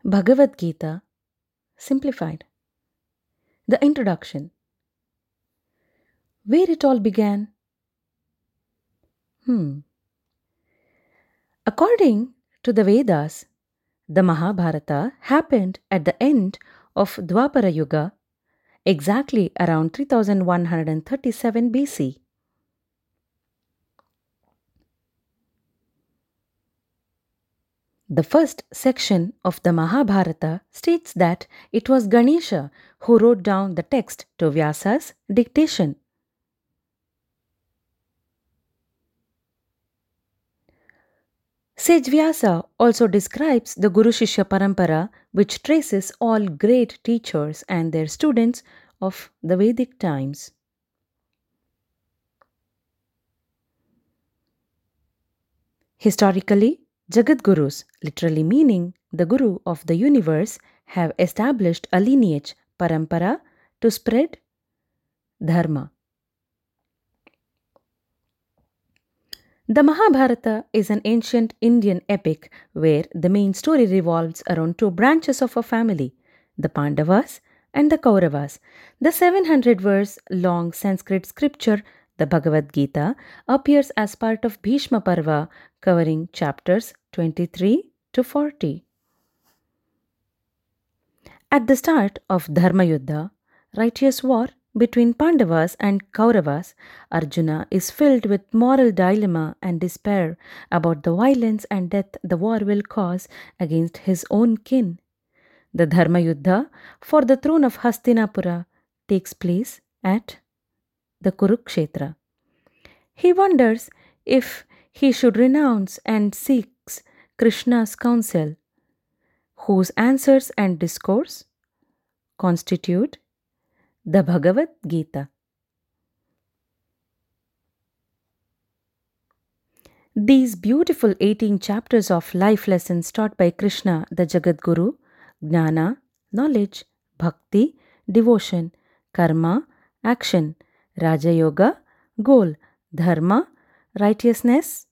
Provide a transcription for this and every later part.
Bhagavad Gita Simplified. The introduction. Where it all began? Hmm. According to the Vedas, the Mahabharata happened at the end of Dwapara Yuga, exactly around 3137 BC. The first section of the Mahabharata states that it was Ganesha who wrote down the text to Vyasa's dictation. Sage Vyasa also describes the Guru Shishya Parampara, which traces all great teachers and their students of the Vedic times. Historically, Jagat Gurus, literally meaning the Guru of the universe, have established a lineage, Parampara, to spread Dharma. The Mahabharata is an ancient Indian epic where the main story revolves around two branches of a family, the Pandavas and the Kauravas. The 700 verse long Sanskrit scripture, the Bhagavad Gita, appears as part of Bhishma Parva, covering chapters 23 to 40. At the start of Dharma Yuddha, righteous war between Pandavas and Kauravas, Arjuna is filled with moral dilemma and despair about the violence and death the war will cause against his own kin. The Dharma Yuddha for the throne of Hastinapura takes place at the Kurukshetra. He wonders if he should renounce and seeks Krishna's counsel, whose answers and discourse constitute the Bhagavad Gita. These beautiful 18 chapters of life lessons taught by Krishna, the Jagat Guru, Jnana, knowledge, Bhakti, devotion, Karma, action, Raja Yoga, goal, Dharma, righteousness.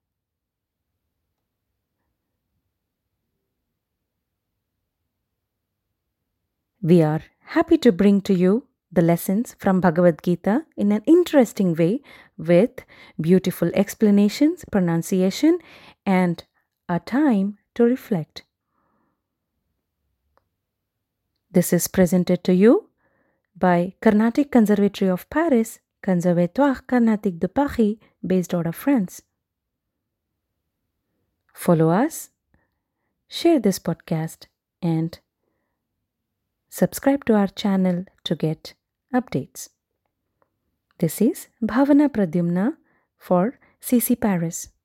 We are happy to bring to you the lessons from Bhagavad Gita in an interesting way with beautiful explanations, pronunciation, and a time to reflect. This is presented to you by Carnatic Conservatory of Paris, Conservatoire Carnatic de Paris, based out of France. Follow us, share this podcast, and subscribe to our channel to get updates. This is Bhavana Pradyumna for CC Paris.